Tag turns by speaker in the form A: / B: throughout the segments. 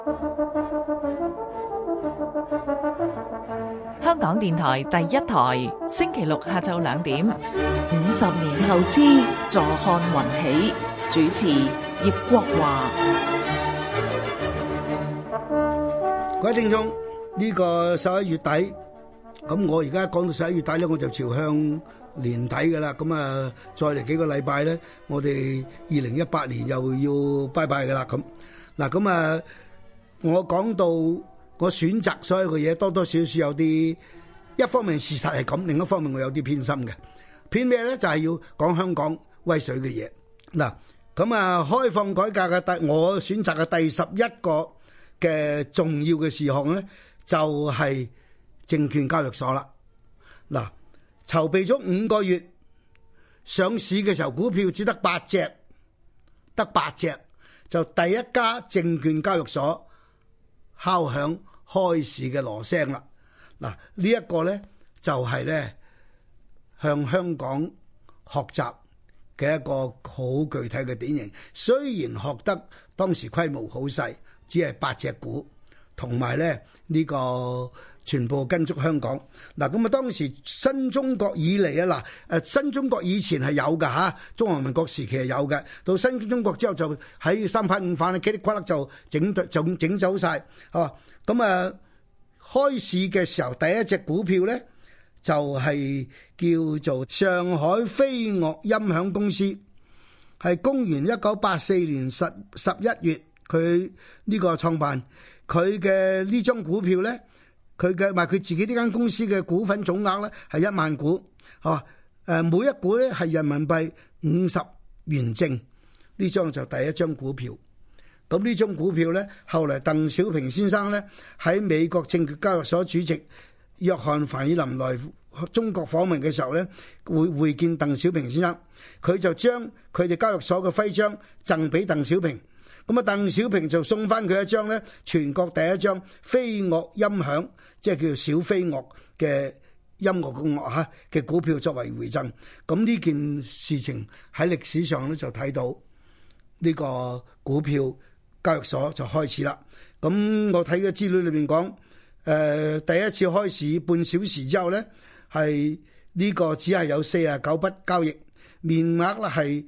A: 香港電台第一台，星期六下晝2點。
B: 50年後之坐看雲起，主持葉國華。
C: 各位聽眾，呢個11月底，咁我而家講到11月底咧，我就朝向年底㗎啦。咁啊，再嚟幾個禮拜咧，我哋2018年又要拜拜㗎啦。咁嗱，咁啊，我講到我選擇所有嘅嘢，多多少少有啲一方面事實係咁，另一方面我有啲偏心嘅。偏咩咧？就係要講香港威水嘅嘢。嗱，咁啊，開放改革嘅我選擇嘅第11個嘅重要嘅事項咧，就係證券交易所啦。嗱，籌備咗5個月，上市嘅時候股票只得8隻，得8隻，就第一家證券交易所敲響開市嘅鑼聲啦。嗱，呢一個咧就係咧向香港學習嘅一個好具體嘅典型。雖然學得當時規模好細，只係8隻股，同埋咧呢個全部跟足香港。嗱，咁啊當時新中國以嚟啊，新中國以前係有㗎嚇，中華民國時期係有嘅，到新中國之後就喺三反五反咧，嘰里呱啦就整走晒。咁啊開市嘅時候第一隻股票咧就係叫做上海飛樂音響公司，係公元1984年11月佢呢個創辦。佢嘅呢張股票咧，佢自己呢間公司嘅股份總額咧係1萬股，每一股咧係人民幣50元正。呢張就第一張股票。咁呢張股票咧，後來鄧小平先生咧喺美國證券交易所主席約翰凡爾林來中國訪問嘅時候咧，會見鄧小平先生，佢就將佢哋交易所嘅徽章贈俾鄧小平。咁啊，鄧小平就送翻佢一張咧，全國第一張飛樂音響，即係叫做小飛樂嘅音樂嘅樂嚇嘅股票作為回贈。咁呢件事情喺歷史上咧就睇到呢個股票交易所就開始啦。咁我睇嘅資料裏面講，第一次開市半小時之後咧，係呢個只係有49筆交易，面額咧係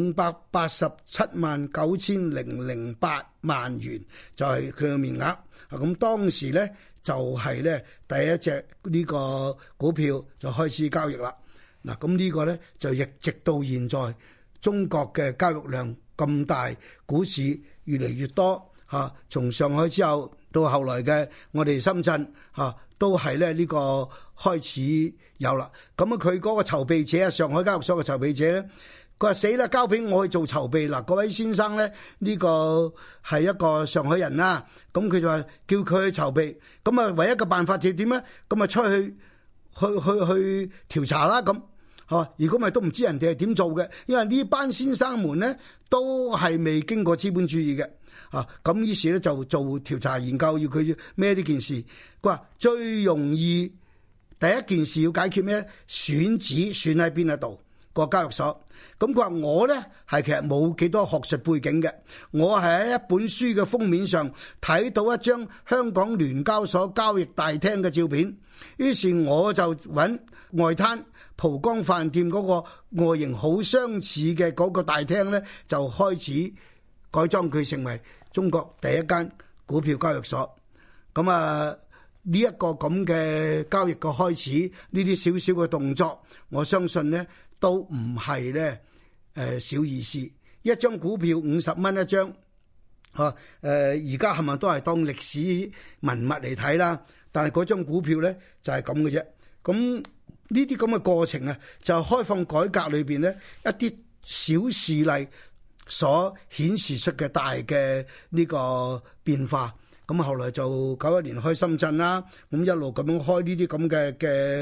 C: 5879008萬元，就係佢嘅面額。咁當時咧就係咧第一隻呢個股票就開始交易啦。嗱，咁呢個咧就一直到現在，中國嘅交易量咁大，股市越嚟越多嚇。從上海之後到後來嘅我哋深圳嚇，都係咧呢個開始有啦。咁啊，佢嗰個籌備者啊，上海交易所嘅籌備者咧，佢話死啦，交俾我去做籌備嗱。各位先生咧，呢個係一個上海人啦，咁佢就話叫佢去籌備。咁啊，唯一嘅辦法就點咧？咁啊，出去調查啦咁。如果唔係都唔知人哋係點做嘅，因為呢班先生們咧都係未經過資本主義嘅。咁於是咧就做調查研究，要佢孭呢件事。佢話最容易第一件事要解決咩咧？選址選喺邊一度個交易所。咁佢話我咧係其實冇幾多學術背景嘅，我係喺一本書嘅封面上睇到一張香港聯交所交易大廳嘅照片，於是我就揾外灘蒲崗飯店嗰個外形好相似嘅嗰個大廳咧，就開始改裝佢成為中國第一間股票交易所。咁啊，呢一個咁嘅交易嘅開始，呢啲少少嘅動作，我相信咧都唔係咧小意思。一張股票50蚊一張，而家係咪都係當歷史文物嚟睇啦？但係嗰張股票咧就係咁嘅啫。咁呢啲咁嘅過程啊，就係開放改革裏邊咧一啲小事例所顯示出嘅大嘅呢個變化。咁後來就91年開深圳啦，咁一路咁樣開呢啲咁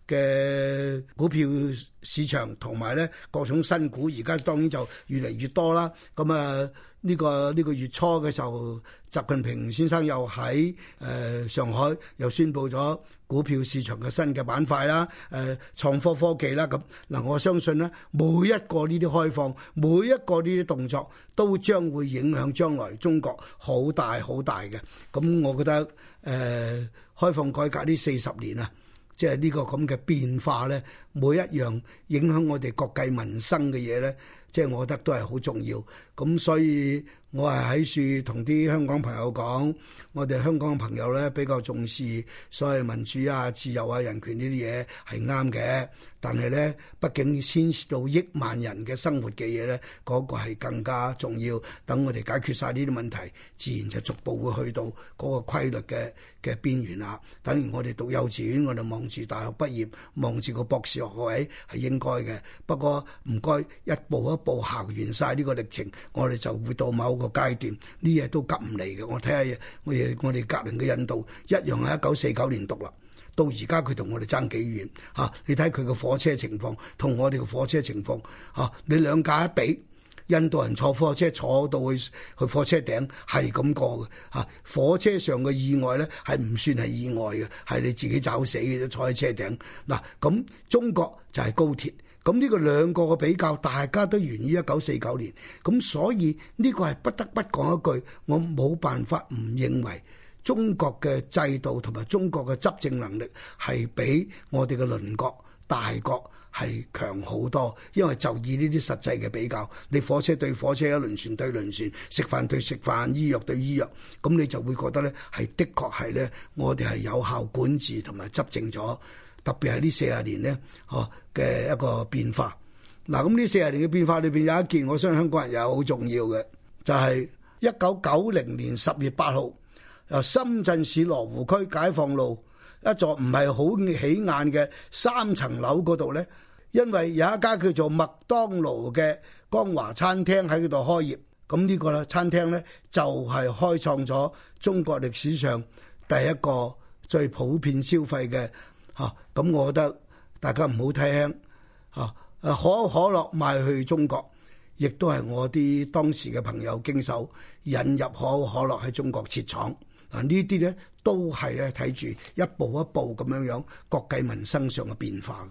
C: 嘅股票市場同埋咧各種新股，而家當然就越嚟越多啦。咁啊呢個月初嘅時候，習近平先生又喺上海又宣布咗股票市場嘅新嘅板塊啦，創科科技啦咁嗱，我相信咧每一個呢啲開放，每一個呢啲動作都將會影響將來中國好大好大嘅。咁我覺得開放改革呢40年啊，即係呢個咁嘅變化咧，每一樣影響我哋國計民生嘅嘢咧，即係我覺得都係好重要。咁所以我係喺處同啲香港朋友講，我哋香港嘅朋友咧比較重視所謂民主啊、自由啊、人權呢啲嘢係啱嘅，但係咧畢竟牽涉到億萬人嘅生活嘅嘢咧，嗰個係更加重要。等我哋解決晒呢啲問題，自然就逐步會去到嗰個規律嘅邊緣啦。等於我哋讀幼稚園，我哋望住大學畢業，望住個博士學位係應該嘅。不過唔該一步一步行完晒呢個歷程，我哋就會到某個階段，呢嘢都急唔嚟嘅。我睇下我哋隔鄰嘅印度一樣係1949年獨立，到而家佢同我哋爭幾遠嚇？你睇佢嘅火車情況同我哋嘅火車情況嚇，你兩架一比，印度人坐火車坐到去火車頂係咁過嘅嚇。火車上嘅意外咧係唔算係意外嘅，係你自己找死嘅啫，坐喺車頂嗱。咁中國就係高鐵。咁呢個兩個嘅比較，大家都源於1949年，咁所以呢個係不得不講一句，我冇辦法唔認為中國嘅制度同埋中國嘅執政能力係比我哋嘅鄰國大國係強好多，因為就以呢啲實際嘅比較，你火車對火車，輪船對輪船，食飯對食飯，醫藥對醫藥，咁你就會覺得咧係的確係咧，我哋係有效管治同埋執政咗。特別係呢40年咧，嘅一個變化。嗱，咁呢40年嘅變化裏邊有一件，我相信香港人又好重要嘅，就係1990年10月8號，由深圳市羅湖區解放路一座唔係好起眼嘅3層樓嗰度咧，因為有一家叫做麥當勞嘅光華餐廳喺嗰度開業，咁呢個餐廳咧就係開創咗中國歷史上第一個最普遍消費嘅。咁我覺得大家唔好睇輕可口可樂賣去中國，亦都係我啲當時嘅朋友經手引入可口可樂喺中國設廠。呢啲咧都係咧睇住一步一步咁樣國計民生上嘅變化。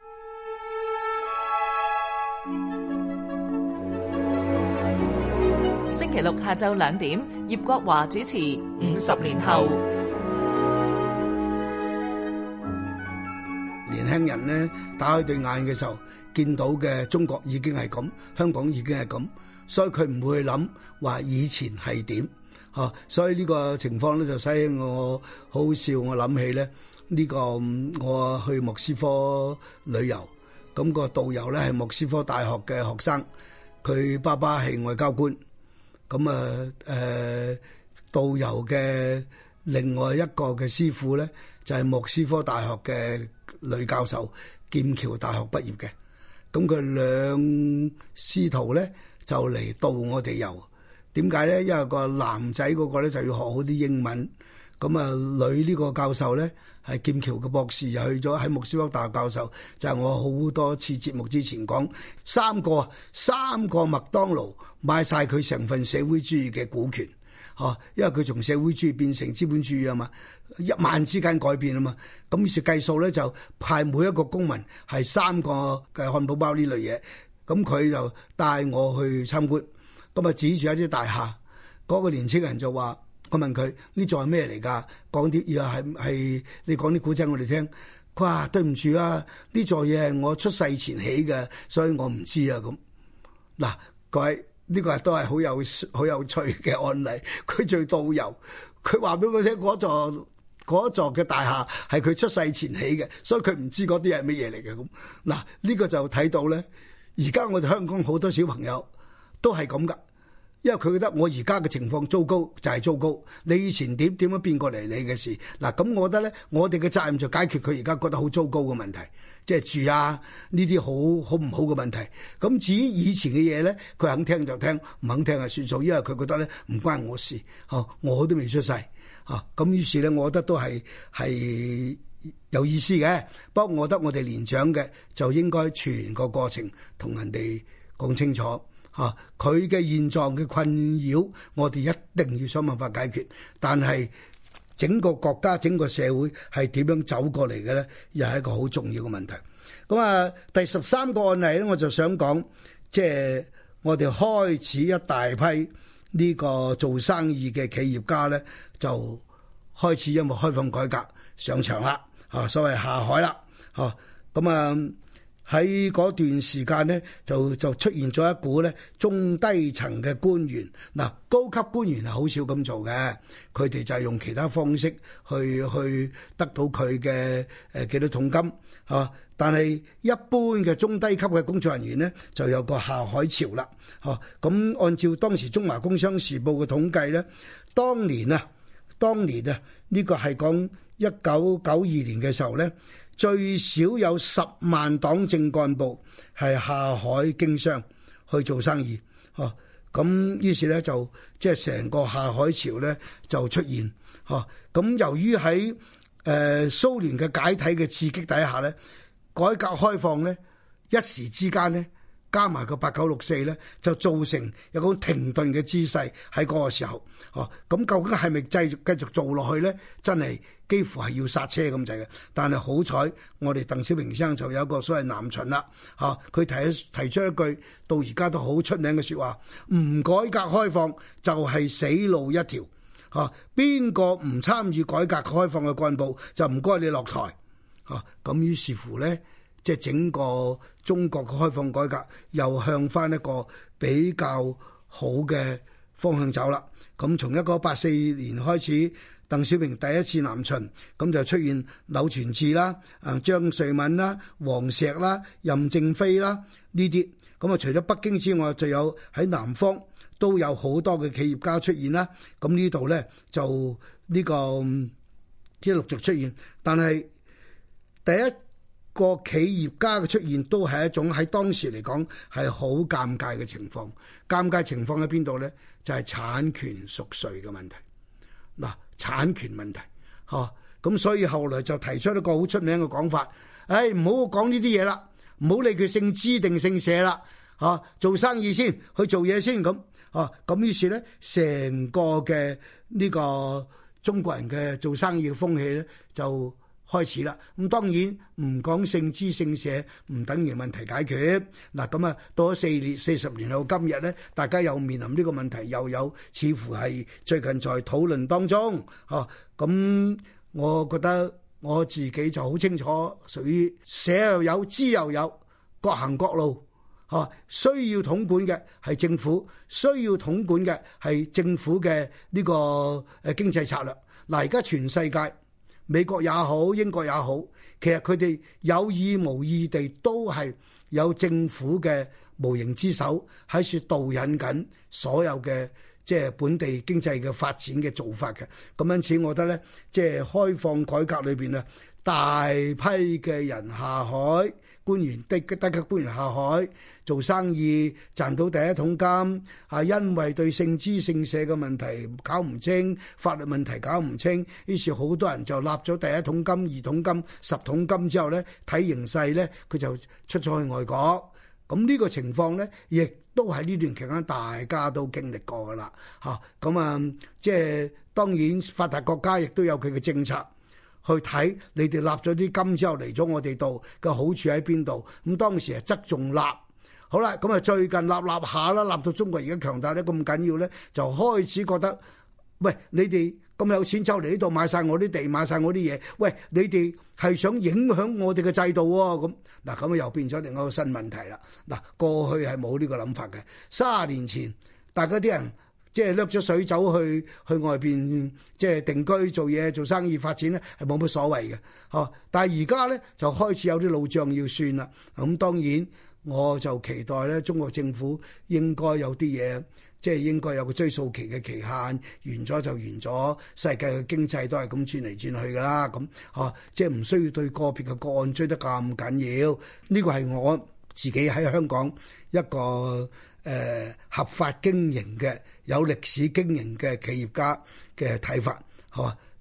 A: 星期六下晝2點，葉國華主持《50年後》。
C: 年輕人咧打開對眼嘅時候，見到嘅中國已經係咁，香港已經係咁，所以佢唔會諗話以前係點嚇。所以呢個情況咧就使我好笑。我諗起咧呢個我去莫斯科旅遊，咁個導遊咧係莫斯科大學嘅學生，佢爸爸係外交官。咁導遊嘅另外一個嘅師傅咧就係莫斯科大學嘅女教授，劍橋大學畢業嘅。咁佢兩師徒咧就嚟導我哋遊。點解咧？因為個男仔嗰個咧就要學好啲英文，咁女呢個教授咧係劍橋嘅博士，又去咗喺莫斯科大學教授。就係我好多次節目之前講，三個麥當勞買晒佢成份社會主義嘅股權。因為佢從社會主義變成資本主義啊嘛，一晚之間改變啊嘛，咁於是計數咧就派每一個公民係3個嘅漢堡包呢類嘢，咁佢就帶我去參觀，咁指住一啲大廈，嗰個年青人就話，我問佢呢座係咩嚟㗎？講啲嘢係你講啲古仔我哋聽，佢話對唔住啊，呢座嘢係我出世前起嘅，所以我唔知啊咁。嗱，各位。呢個都係好有趣嘅案例。佢做導遊，佢話俾我聽嗰座嘅大廈係佢出世前起嘅，所以佢唔知嗰啲係乜嘢嚟嘅咁。嗱，呢個就睇到咧，而家我哋香港好多小朋友都係咁噶，因為佢覺得我而家嘅情況糟糕就係糟糕，你以前點樣變過嚟你嘅事。嗱，咁我覺得咧，我哋嘅責任就解決佢而家覺得好糟糕嘅問題。即係住啊呢啲好唔好嘅問題，咁至於以前嘅嘢咧，佢肯聽就聽，唔肯聽就算數，因為佢覺得咧唔關我事，我都未出世，咁於是咧，我覺得都係有意思嘅。不過我覺得我哋年長嘅就應該全個過程同人哋講清楚嚇，佢嘅現狀嘅困擾，我哋一定要想辦法解決。但係整個國家、整個社會係點樣走過嚟嘅咧，又係一個好重要嘅問題。咁啊，第13個案例咧，我就想講，即係我哋開始一大批呢個做生意嘅企業家咧，就開始因為開放改革上場啦，所謂下海啦，咁啊喺嗰段時間咧，就出現咗一股咧中低層嘅官員，嗱高級官員係好少咁做嘅，佢哋就係用其他方式去得到佢嘅幾多桶金，但係一般嘅中低級嘅工作人員呢，就有個下海潮啦。咁按照當時《中華工商時報》嘅統計呢，當年啊，呢個係講1992年嘅時候呢，最少有10萬黨政幹部係下海經商去做生意。咁於是呢，就即係成個下海潮呢就出現。咁由於喺蘇聯嘅解體嘅刺激底下呢，改革開放咧，一時之間咧，加埋個8964咧，就造成有個停頓嘅姿勢喺嗰個時候。咁究竟係咪繼續做落去咧？真係幾乎係要剎車咁滯嘅。但係好彩，我哋鄧小平先生就有一個所謂南巡啦。佢提出一句到而家都好出名嘅説話：唔改革開放就係死路一條。邊個唔參與改革開放嘅幹部，就唔該你落台。咁於是乎咧，即係整個中國嘅開放改革又向翻一個比較好嘅方向走啦。咁從1984年開始，鄧小平第一次南巡，咁就出現柳傳志啦、張瑞敏啦、黃石啦、任正非啦呢啲。咁啊，除咗北京之外，就有喺南方都有好多嘅企業家出現啦。咁呢度咧就呢個即係陸續出現，但係第一個企業家嘅出現都係一種喺當時嚟講係好尷尬嘅情況。尷尬情況喺邊度咧？就係產權屬誰嘅問題。嗱，產權問題，咁所以後來就提出一個好出名嘅講法，唔好講呢啲嘢啦，唔好理佢姓支定姓社啦，做生意先，去做嘢先咁。咁於是咧，成個嘅呢個中國人嘅做生意嘅風氣咧就開始啦。咁當然唔講姓支姓社唔等於問題解決。嗱，咁啊到咗40年後今日咧，大家又面臨呢個問題，又有似乎係最近在討論當中。咁我覺得我自己就好清楚，屬於社又有，支又有，各行各路。需要統管嘅係政府，需要統管嘅係政府嘅呢個經濟策略。嗱，而家全世界美國也好，英國也好，其實佢哋有意無意地都係有政府嘅無形之手喺處導引緊所有嘅即係本地經濟嘅發展嘅做法嘅。咁因此，我覺得咧，即係開放改革裏邊啊，大批嘅人下海，官員低級官員下海做生意，賺到第一桶金，因為對姓支姓社嘅問題搞唔清，法律問題搞唔清，於是好多人就立咗第一桶金、2桶金、10桶金之後咧，睇形勢咧，佢就出咗去外國。咁呢個情況咧，亦都喺呢段期間大家都經歷過噶啦。咁即係當然發達國家亦都有佢嘅政策。去睇你哋立咗啲金之後嚟咗我哋度嘅好處喺邊度？咁當時係側重立，好啦，咁啊最近立下啦，立到中國而家強大得咁緊要咧，就開始覺得，喂，你哋咁有錢走嚟呢度買晒我啲地，買晒我啲嘢，喂，你哋係想影響我哋嘅制度喎？咁又變咗另一個新問題啦。嗱，過去係冇呢個諗法嘅，30年前大家啲人。即係掠咗水走去外邊，即係定居做嘢、做生意、發展咧，係冇乜所謂嘅。但係而家咧就開始有啲老賬要算啦。咁當然我就期待咧，中國政府應該有啲嘢，即係應該有個追溯期嘅期限，完咗就完咗。世界嘅經濟都係咁轉嚟轉去㗎啦。咁即係唔需要對個別嘅個案追得咁緊要。呢個係我自己喺香港一個合法經營嘅有歷史經營嘅企業家嘅睇法，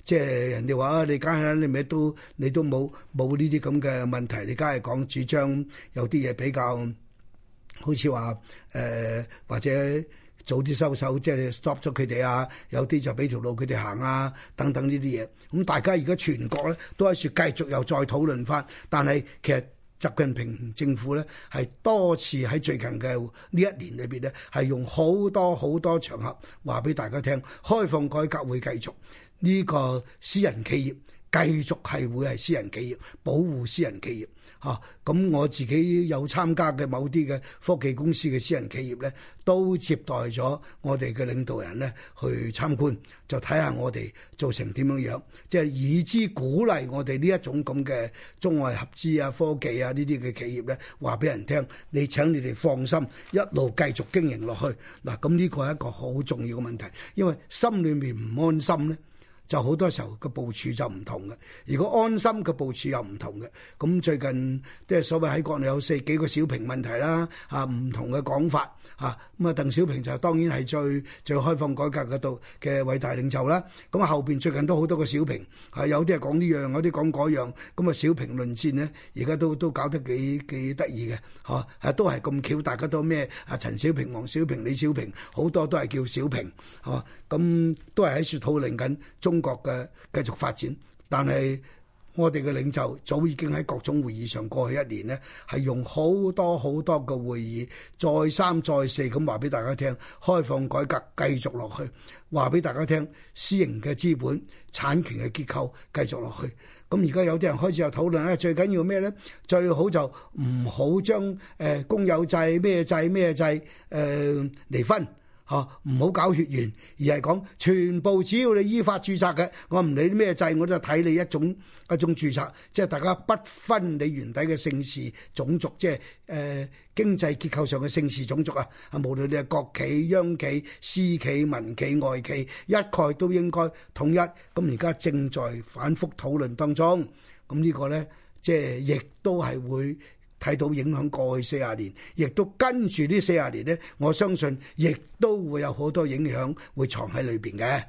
C: 即係人哋話你梗係你咪你都冇呢啲咁嘅問題，你梗係講主張有啲嘢比較好似話或者早啲收手，即係 stop 咗佢哋啊，有啲就俾條路佢哋行啊，等等呢啲嘢。咁大家而家全國咧都喺處繼續又再討論翻，但係其實習近平政府咧係多次喺最近嘅呢一年裏邊咧係用好多場合話俾大家聽，開放改革會繼續，呢個私人企業繼續係會係私人企業，保護私人企業嚇。咁我自己有參加嘅某啲嘅科技公司嘅私人企業咧，都接待咗我哋嘅領導人咧去參觀，就睇下我哋做成點樣樣，即係以之鼓勵我哋呢一種咁嘅中外合資啊、科技啊呢啲嘅企業咧，話俾人聽，你請你哋放心，一路繼續經營落去。嗱，咁呢個係一個好重要嘅問題，因為心裏面唔安心咧，就好多時候個部署就唔同嘅。如果安心嘅部署又唔同嘅，咁最近即係所謂喺國內有幾個小平問題啦，唔同嘅講法咁鄧小平就當然係最開放改革嗰度嘅偉大領袖啦。咁後邊最近都好多個小平，有啲係講呢樣，有啲講嗰樣，咁小平論戰呢，而家都搞得幾得意嘅，都係咁巧，大家都咩陳小平、黃小平、李小平，好多都係叫小平，咁都係喺處討論緊中國嘅繼續發展，但係我哋嘅領袖早已經喺各種會議上過去一年呢，係用好多嘅會議，再三再四咁話俾大家聽，開放改革繼續落去，話俾大家聽，私營嘅資本產權嘅結構繼續落去。咁而家有啲人開始有討論咧，最緊要咩咧？最好就唔好將公有制咩制離分。唔好搞血緣，而係講全部只要你依法註冊嘅，我唔理咩制，我都睇你一種註冊，即係大家不分你原底嘅姓氏種族，即係經濟結構上嘅姓氏種族啊，無論你係國企、央企、私企、民企、外企，一概都應該統一。咁而家正在反覆討論當中，咁呢個咧，即係亦都係會睇到影響過去40年，亦都跟住呢40年呢，我相信亦都會有好多影響會藏喺裏邊嘅。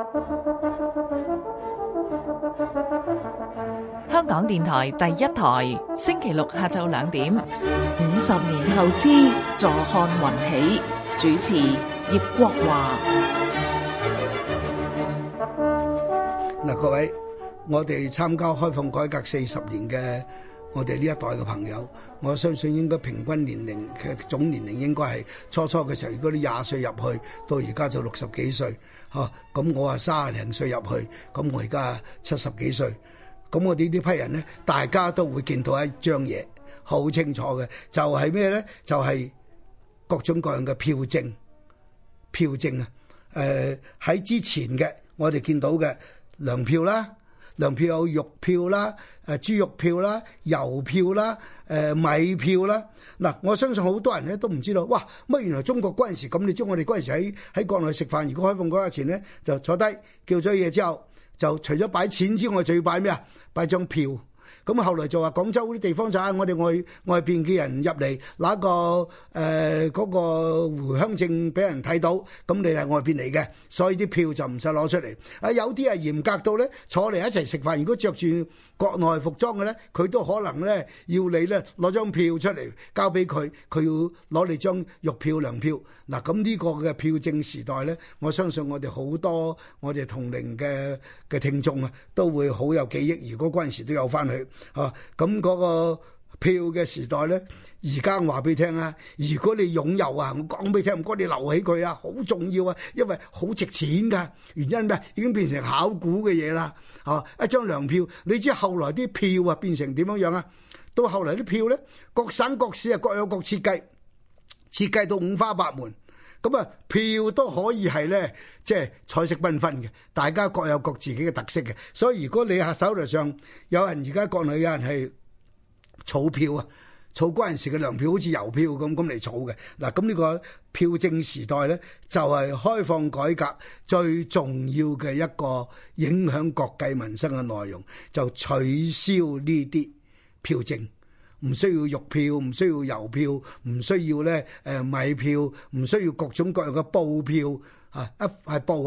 A: 香港電台第一台，星期六下晝2點。
B: 50年後之坐看雲起，主持葉國華。
C: 嗱，各位，我哋參加開放改革40年嘅我哋呢一代嘅朋友，我相信應該平均年齡嘅總年齡應該係初嘅時候，如果你20歲入去，到而家就60幾歲，咁我30零歲入去，咁我而家70幾歲，咁我哋呢批人咧，大家都會見到一張嘢，好清楚嘅，就係咩咧？就係各種各樣嘅票證啊！喺之前嘅我哋見到嘅糧票啦。糧票有肉票啦、豬肉票啦、郵票啦、米票啦。嗱，我相信好多人咧都唔知道，哇！乜原來中國嗰陣時咁？你知我哋嗰陣時喺國內食飯，如果開放嗰日前咧，就坐低叫咗嘢之後，就除咗擺錢之外，就要擺咩啊？擺張票。咁後來就話廣州嗰啲地方就係我哋外邊嘅人入嚟拿個嗰個回鄉證俾人睇到，咁你係外邊嚟嘅，所以啲票就唔使攞出嚟。有啲係嚴格到咧，坐嚟一齊食飯，如果着住國內服裝嘅咧，佢都可能咧要你咧攞張票出嚟交俾佢，佢要攞你張肉票、糧票。嗱，咁呢個嘅票證時代咧，我相信我哋好多我哋同齡嘅聽眾啊，都會好有記憶。如果嗰陣時都有翻去。咁嗰個票嘅時代咧，而家我話俾你聽啊，如果你擁有啊，我講俾你聽，唔該你留起佢啊，好重要啊，因為好值錢噶。原因咩？已經變成考古嘅嘢啦。一張糧票，你知後來啲票啊變成點樣樣啊？到後來啲票咧，各省各市啊各有各設計到五花八門。咁啊，票都可以係咧，即係彩色繽紛嘅，大家各有各自己嘅特色嘅。所以如果你喺手頭上有人，而家國內有人係儲票啊，儲嗰陣時嘅糧票好似郵票咁嚟儲嘅。嗱，咁呢個票證時代咧，就係開放改革最重要嘅一個影響國計民生嘅內容，就取消呢啲票證。唔需要肉票，唔需要郵票，唔需要咧米票，唔需要各種各樣嘅布票啊！一塊布啊，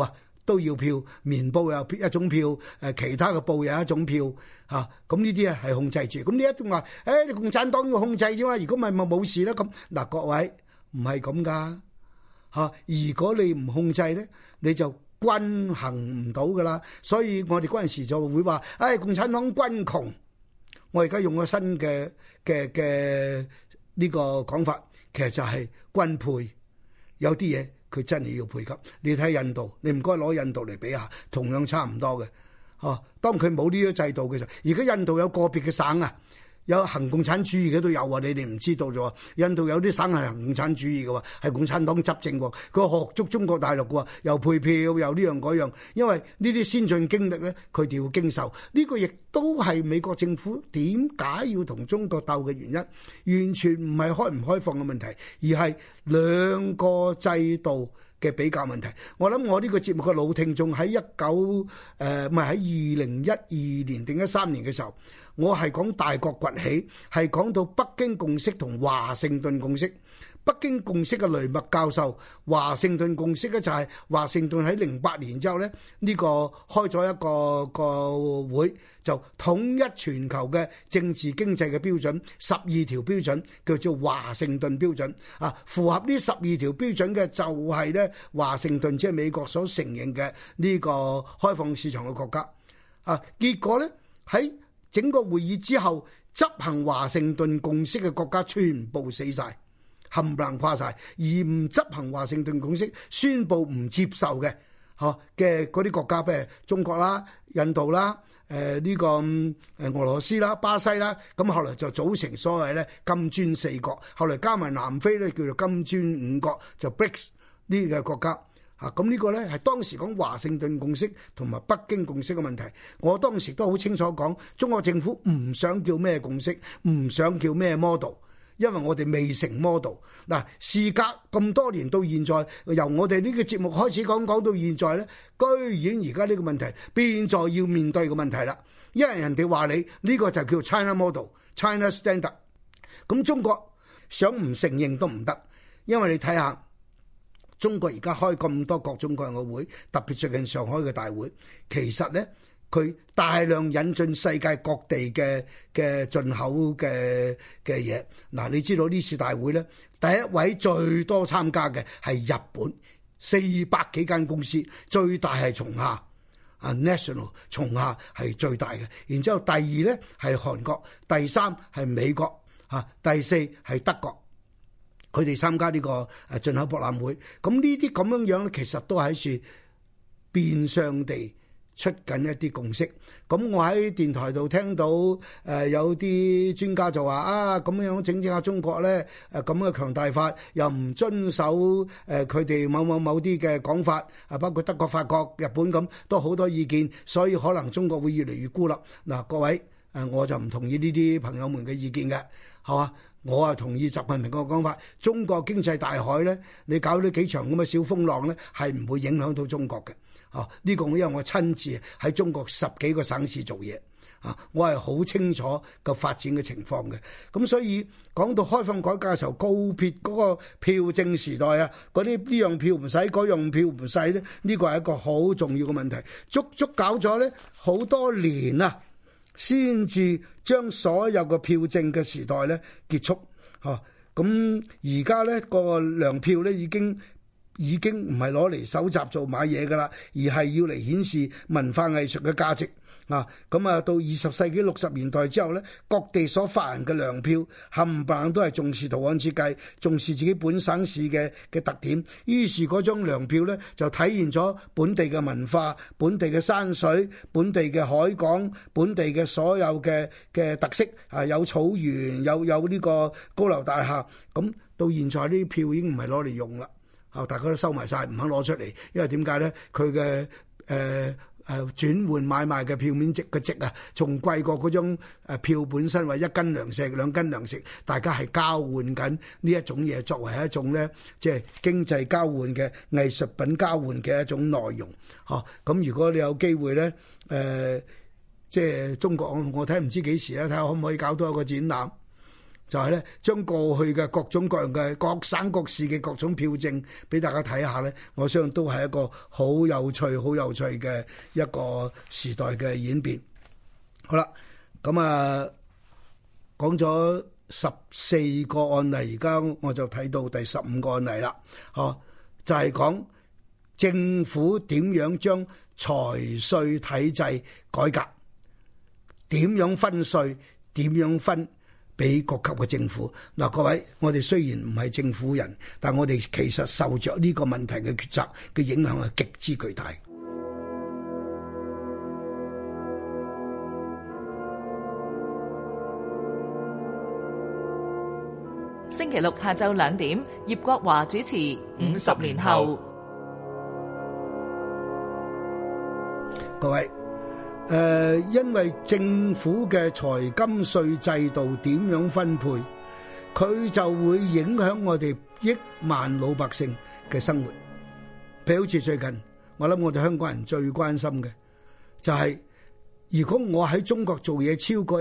C: 都要票，棉布有一種票，其他嘅布有一種票嚇，咁呢啲係控制住。咁你一定話，你共產黨要控制啫嘛？如果唔係咪冇事啦？咁嗱，各位唔係咁噶嚇。如果你唔控制咧，你就均衡唔到噶啦。所以我哋嗰陣時就會話，共產黨軍窮。我而家用個新嘅呢個講法，其實就係均配。有啲嘢佢真係要配給。你睇印度，你唔該攞印度嚟比下，同樣差唔多嘅。當佢冇呢啲制度嘅時候，而家印度有個別嘅省啊，有行共產主義嘅都有啊，你哋唔知道咗。印度有啲省係行共產主義嘅喎，係共產黨執政喎。佢學足中國大陸嘅喎，又配票又呢樣嗰樣。因為呢啲先進經歷咧，佢哋要經受。呢個亦都係美國政府點解要同中國鬥嘅原因，完全唔係開唔開放嘅問題，而係兩個制度嘅比較問題。我諗我呢個節目嘅老聽眾喺喺2012年定13年嘅時候，我係講大國崛起，係講到北京共識同華盛頓共識。北京共識嘅雷默教授，華盛頓共識咧就係華盛頓喺08年之後咧，呢個開咗一個會，就統一全球嘅政治經濟嘅標準，12條標準叫做華盛頓標準啊。符合呢12條標準嘅就係咧華盛頓，即係美國所承認嘅呢個開放市場嘅國家啊。結果咧喺整個會議之後，執行華盛頓共識嘅國家全部死晒，冚唪唥垮晒，而唔執行華盛頓共識，宣布唔接受嘅嘅嗰啲國家，譬如中國啦、印度啦、呢個俄羅斯啦、巴西啦，咁後來就組成所謂咧金磚四國，後來加埋南非咧叫做金磚五國，就 BRICS 呢個國家。咁呢個呢係當時講華盛頓共識同埋北京共識嘅問題。我當時都好清楚講，中國政府唔想叫咩共識，唔想叫咩 model， 因為我哋未成 model。嗱，事隔咁多年到現在，由我哋呢個節目開始講到現在呢，居然而家呢個問題變咗要面對嘅問題啦。因為人哋話你呢個就叫 China model、China standard。咁中國想唔承認都唔得，因為你睇下。中國而家開咁多各種各樣嘅會，特別最近上海嘅大會，其實呢，佢大量引進世界各地嘅進口嘅嘢。嗱，你知道呢次大會呢，第一位最多參加嘅係日本，400幾間公司，最大係松下National， 松下係最大嘅。然之後第二呢係韓國，第三係美國，第四係德國。佢哋參加呢個進口博覽會，咁呢啲咁樣樣咧，其實都喺處變相地出緊一啲共識。咁我喺電台度聽到有啲專家就話咁樣整下中國咧，咁嘅強大法又唔遵守佢哋某啲嘅講法，包括德國、法國、日本咁，都好多意見，所以可能中國會越嚟越孤立。嗱，各位我就唔同意呢啲朋友們嘅意見嘅，係嘛？我同意習近平個講法，中國經濟大海咧，你搞呢幾場咁嘅小風浪咧，係唔會影響到中國嘅。呢個因為我親自喺中國10幾個省市做嘢，我係好清楚個發展嘅情況嘅。咁所以講到開放改革嘅時候，告別嗰個票證時代啊，嗰啲呢樣票唔使，嗰樣票唔使咧，呢個係一個好重要嘅問題。足搞咗咧好多年啊，先至將所有嘅票證嘅時代咧結束。咁而家咧個糧票咧已經唔係攞嚟搜集做買嘢噶啦，而係要嚟顯示文化藝術嘅價值。咁到20世紀60年代之後咧，各地所發行嘅糧票冚唪唥都係重視圖案設計，重視自己本省市嘅特點。於是嗰張糧票咧就體現咗本地嘅文化、本地嘅山水、本地嘅海港、本地嘅所有嘅特色。有草原，有呢個高樓大廈。咁到現在呢啲票已經唔係攞嚟用啦，大家都收埋晒，唔肯攞出嚟。因為點解咧？佢嘅轉換買賣嘅票面值嘅值啊，仲貴過嗰張票本身，話1斤糧食、2斤糧食，大家係交換緊呢一種嘢，作為一種咧，即係經濟交換嘅藝術品交換嘅一種內容。咁如果你有機會咧，即係中國我睇唔知幾時咧，睇下可唔可以搞多一個展覽。 就係咧將過去嘅各種各樣嘅各省各市嘅各種票證俾大家睇下咧，我相信都係一個好有趣嘅一個時代嘅演變。好啦，咁啊講咗14個案例，而家我就睇到第15個案例啦。就係講政府點樣將財稅體制改革，點樣分稅，點樣分俾各級嘅政府。嗱，各位，我哋雖然唔係政府人，但我哋其實受着呢個問題嘅決策嘅影響係極之巨大。
A: 星期六下晝2點，葉國華主持《50年後》。
C: 各位，因為政府嘅財金稅制度點樣分配，佢就會影響我哋億萬老百姓嘅生活。譬如好似最近，我諗我哋香港人最關心嘅就係，如果我喺中國做嘢超過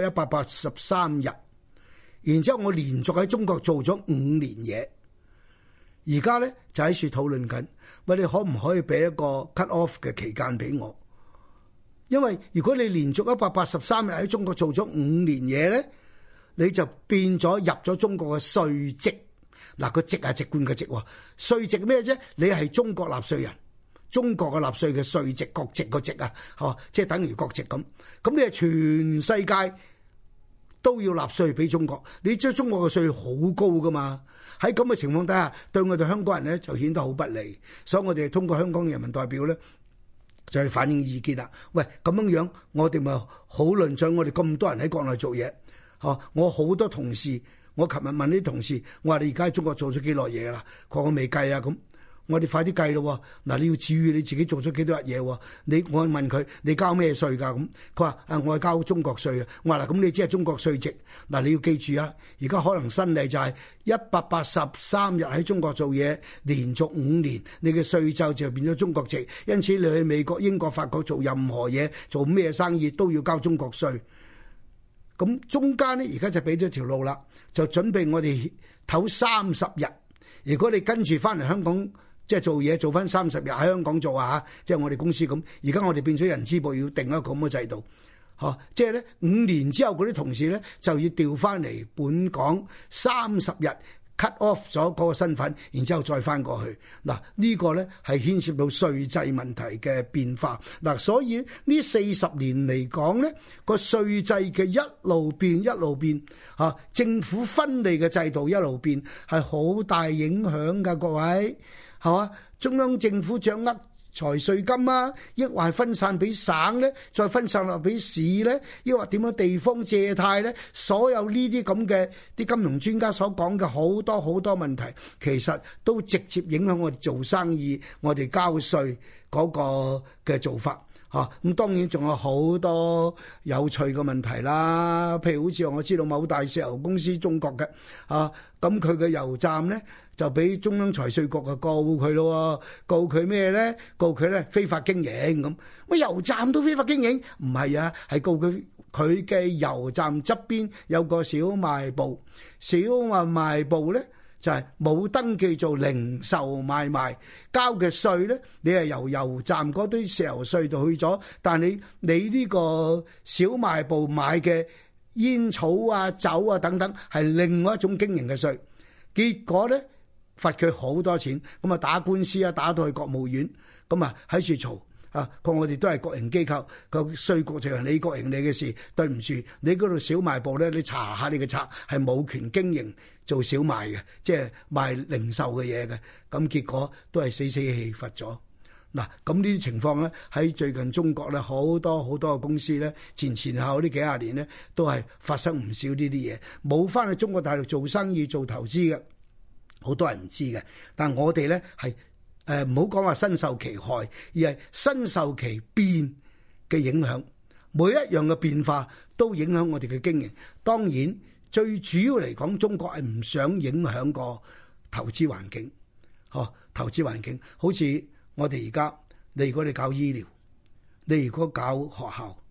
C: 183日，然之後我連續喺中國做咗5年嘢，而家咧就喺處討論緊，喂，你可唔可以俾一個 cut off 嘅期間俾我？因為如果你連續183日喺中國做咗5年嘢咧，你就變咗入咗中國嘅稅籍。嗱，個籍係籍貫嘅籍喎，稅籍咩啫？你係中國納稅人，中國嘅納稅嘅稅籍，國籍個籍啊，即係等於國籍咁。咁你係全世界都要納稅俾中國，你將中國嘅稅好高噶嘛？喺咁嘅情況底下，對我哋香港人咧就顯得好不利，所以我哋通過香港人民代表咧就係反映意見啦。喂，咁樣我哋咪好論盡，我哋咁多人喺國內做嘢，我好多同事，我琴日問啲同事，我話你而家喺中國做咗幾耐嘢啦？佢話我未計啊咁。我哋快啲計咯，嗱，你要注意你自己做咗幾多日嘢。我問佢，你交咩稅㗎？咁佢話我係交中國稅啊。我話嗱，咁你只係中國稅籍，嗱，你要記住啊，而家可能新例就係183日喺中國做嘢，連續5年，你嘅稅就變咗中國籍，因此你去美國、英國、法國做任何嘢，做咩生意都要交中國稅。咁中間咧而家就俾咗條路啦，就準備我哋唞30日。如果你跟住翻嚟香港，即係做嘢做翻30日喺香港做啊，即係我哋公司咁。而家我哋變咗人資部要定一個咁嘅制度，即係咧5年之後嗰啲同事咧就要調翻嚟本港30日 cut off 咗嗰個身份，然之後再翻過去。嗱，呢個咧係牽涉到稅制問題嘅變化。嗱，所以呢40年嚟講咧，個稅制嘅一路變，政府分利嘅制度一路變，係好大影響㗎，各位。係嘛？中央政府掌握財稅金啊，抑或係分散俾省咧，再分散落俾市咧，抑或點樣地方借貸咧？所有呢啲咁嘅啲金融專家所講嘅好多問題，其實都直接影響我哋做生意、我哋交稅嗰個嘅做法。咁當然仲有好多有趣嘅問題啦，譬如好似我知道某大石油公司中國嘅，咁佢嘅油站咧就俾中央財稅局告佢咯，告佢咩咧？告佢咧非法經營咁。乜油站都非法經營？唔係啊，係告佢嘅油站側邊有個小賣部，小賣部咧就係冇登記做零售買賣，交嘅稅咧，你係由油站嗰堆石油稅度去咗，但你呢個小賣部買嘅煙草啊、酒啊等等，係另外一種經營嘅稅。結果咧罰佢好多錢，咁啊打官司啊，打到去國務院，咁啊喺處嘈。我哋都係國營機構，個稅局就係你國營你嘅事，對唔住，你嗰度小賣部咧，你查下你嘅冊係冇權經營做小賣嘅，即係賣零售嘅嘢嘅，咁結果都係死氣罰咗。嗱，咁呢啲情況咧喺最近中國咧好多嘅公司咧前後呢幾廿年咧都係發生唔少呢啲嘢，冇翻去中國大陸做生意做投資嘅，好多人唔知嘅，但我哋咧係。唔好講話身受其害，而係身受其變嘅影響。每一樣嘅變化都影響我哋嘅經營。當然，最主要嚟講，中國係唔想影響個投資環境。投資環境好似我哋而家，你如果你搞醫療，你如果搞學校，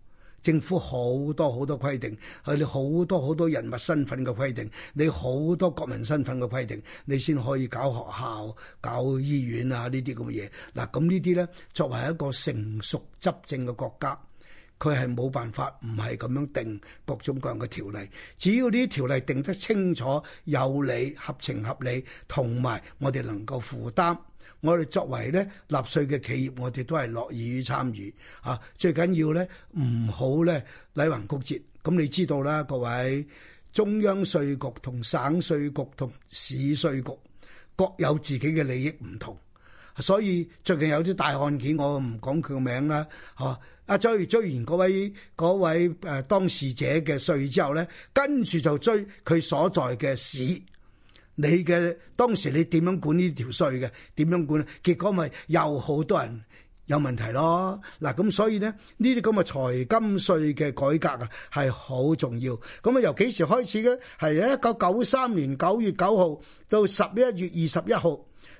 C: 政府好多好多規定，你好多好多人物身份嘅規定，你好多國民身份嘅規定，你先可以搞學校、搞醫院啊呢啲咁嘅嘢。嗱，咁呢啲咧作為一個成熟執政嘅國家，佢係冇辦法唔係咁樣定各種各樣嘅條例。只要呢啲條例定得清楚、有理、合情合理，同埋我哋能夠負擔。我哋作為咧納稅嘅企業，我哋都係樂意於參與啊！最緊要咧唔好咧禮橫曲折。咁你知道啦，各位中央稅局同省稅局同市稅局各有自己嘅利益唔同，所以最近有啲大案件，我唔講佢個名啦，嚇追完嗰位當事者嘅稅之後咧，跟住就追佢所在嘅市。你嘅當時你點樣管呢條稅嘅？點樣管？結果咪又好多人有問題咯。嗱，咁所以咧呢啲咁嘅財金稅嘅改革啊，係好重要。咁啊，由幾時開始嘅？係1993年9月9號到11月21號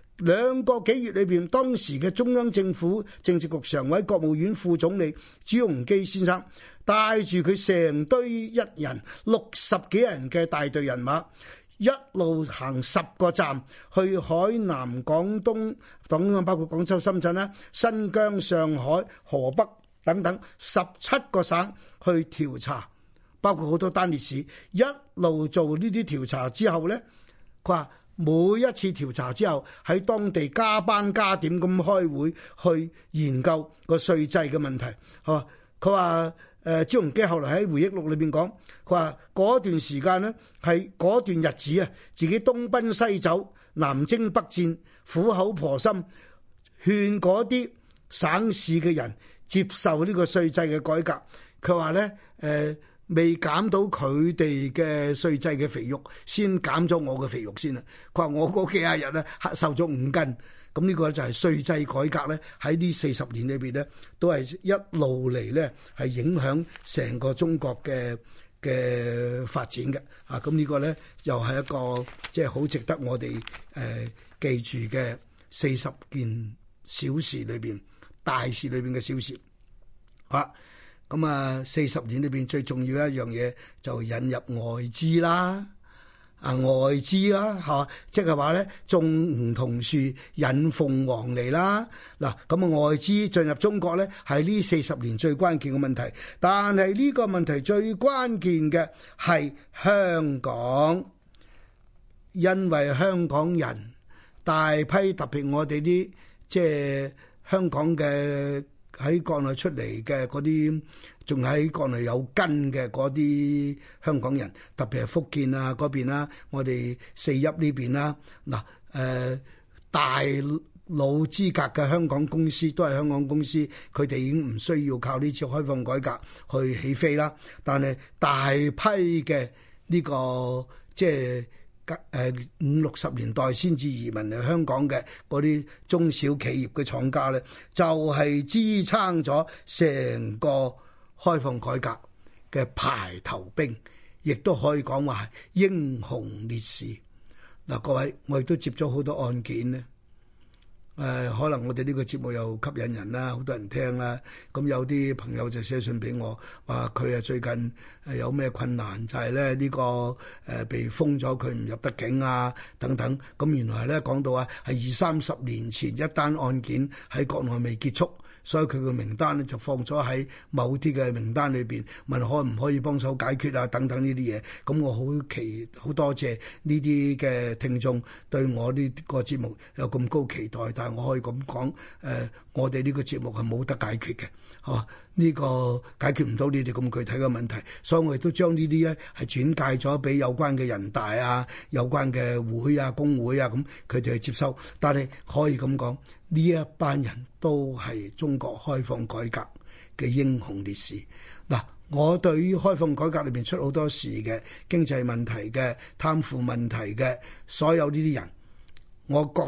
C: 2個幾月裏邊，當時嘅中央政府政治局常委、國務院副總理朱鎔基先生帶住佢成堆一人60幾人嘅大隊人馬，一路行10個站去海南、廣東等，包括廣州、深圳啦、新疆、上海、河北等等17個省去調查，包括好多單列市。一路做呢啲調查之後呢，佢話每一次調查之後喺當地加班加點咁開會去研究個稅制嘅問題。佢話朱鎔基後來喺回憶錄裏邊講，佢話嗰段時間呢，係嗰段日子啊，自己東奔西走、南征北戰、苦口婆心勸嗰啲省市嘅人接受呢個稅制嘅改革。佢話呢，未減到佢哋嘅稅制嘅肥肉，先減咗我嘅肥肉先啦。佢話我嗰幾廿日咧瘦咗5斤。咁呢個就係稅制改革咧，喺呢40年裏邊咧，都係一路嚟咧係影響成個中國嘅發展嘅。咁呢個咧又係一個即係好值得我哋記住嘅40件小事裏邊、大事裏邊嘅小事。咁40年裏邊最重要一樣嘢就引入外資啦。外資啦，嚇，即係話咧種梧桐樹引鳳凰嚟啦。嗱，咁外資進入中國咧係呢40年最關鍵嘅問題，但係呢個問題最關鍵嘅係香港，因為香港人大批特別我哋啲即係香港嘅喺國內出嚟嘅嗰啲，仲喺國內有根嘅嗰啲香港人，特別係福建啊嗰邊啦，我哋4邑呢邊啦，大老資格嘅香港公司都係香港公司，佢哋已經唔需要靠呢次開放改革去起飛啦。但係大批嘅呢個即係50-60年代先至移民嚟香港嘅嗰啲中小企業嘅廠家咧，就係支撐咗成個開放改革嘅排頭兵，亦都可以講話係英雄烈士。嗱，各位，我亦都接咗好多案件咧。可能我哋呢個節目又吸引人啦，好多人聽啦。咁有啲朋友就寫信俾我，話佢最近有咩困難，就係咧呢個被封咗，佢唔入得境啊等等。咁原來咧講到係20-30年前一單案件喺國內未結束，所以佢嘅名單咧就放咗喺某啲嘅名單裏邊，問可唔可以幫手解決啊等等呢啲嘢。咁我好多謝呢啲嘅聽眾對我呢個節目有咁高期待，但係我可以咁講，我哋呢個節目係冇得解決嘅，呢個解決唔到你哋咁具體嘅問題，所以我亦都將呢啲咧係轉介咗俾有關嘅人大啊、有關嘅會啊、工會啊，咁佢哋去接收。但係可以咁講，呢一班人都係中國開放改革嘅英雄烈士。嗱，我對於開放改革裏邊出好多事嘅經濟問題嘅、貪腐問題嘅所有呢啲人，我覺得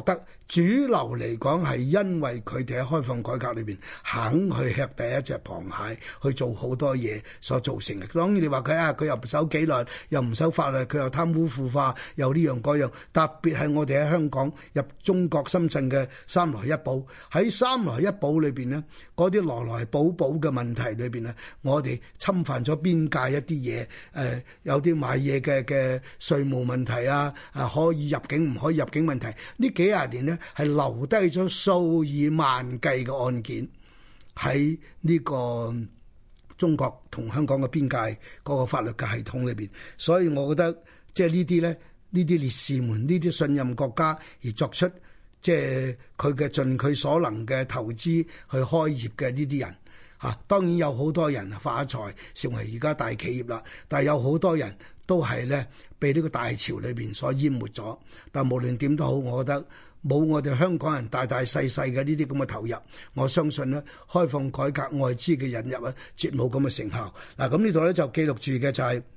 C: 主流嚟講係因為佢哋喺開放改革裏邊肯去吃第一隻螃蟹，去做好多嘢所造成嘅。當然你話佢又唔守紀律，又唔守法律，佢又貪污腐化，又呢樣嗰樣。特別係我哋喺香港入中國深圳嘅三來一補，喺三來一補裏邊呢，嗰啲來來補補嘅問題裏邊呢，我哋侵犯咗邊界一啲嘢，有啲買嘢嘅稅務問題啊，可以入境唔可以入境問題，呢幾廿年呢，係留低咗數以萬計嘅案件喺呢個中國同香港嘅邊界嗰個法律嘅系統裏邊，所以我覺得即係呢啲咧，呢啲烈士們，呢啲信任國家而作出即係佢嘅盡佢所能嘅投資去開業嘅呢啲人嚇，當然有好多人發財成為而家大企業啦，但係有好多人都係咧被呢個大潮裏邊所淹沒咗。但無論點都好，我覺得冇我哋香港人大大細細嘅呢啲咁嘅投入，我相信咧開放改革外資嘅引入咧，絕冇咁嘅成效。嗱，咁呢度咧就記錄住嘅就係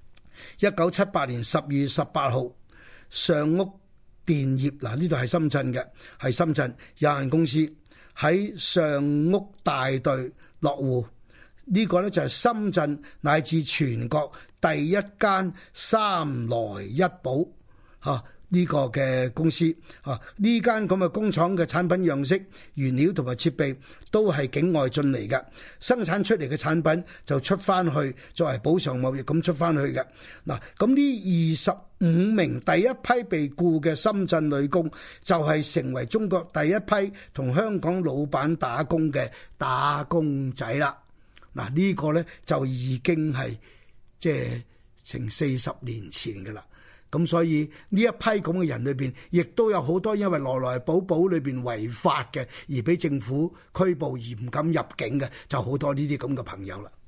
C: 1978年12月18號，上屋電業嗱，呢度係深圳嘅，係深圳有限公司喺上屋大隊落戶。呢個咧就係深圳乃至全國第一間三來一補嚇呢個嘅公司嚇，呢間咁嘅工廠嘅產品樣式、原料同埋設備都係境外進嚟嘅，生產出嚟嘅產品就出翻去作為補償貿易咁出翻去嘅。嗱，咁呢25名第一批被僱嘅深圳女工就係成為中國第一批同香港老闆打工嘅打工仔啦。嗱，呢個咧就已經係即係成40年前嘅啦。咁所以呢一批咁嘅人裏邊，亦都有好多因為來來補補裏邊違法嘅，而俾政府拘捕而唔敢入境嘅，就好多呢啲咁嘅朋友啦。